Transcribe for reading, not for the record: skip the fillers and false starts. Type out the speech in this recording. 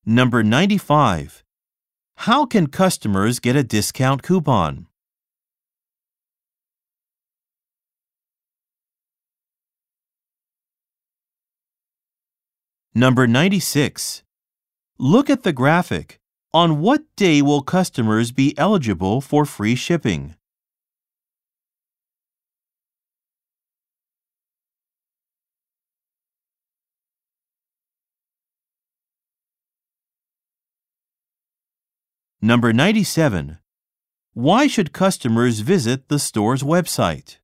Number 95. How can customers get a discount coupon? Number 96. Look at the graphic. On what day will customers be eligible for free shipping? Number 97. Why should customers visit the store's website?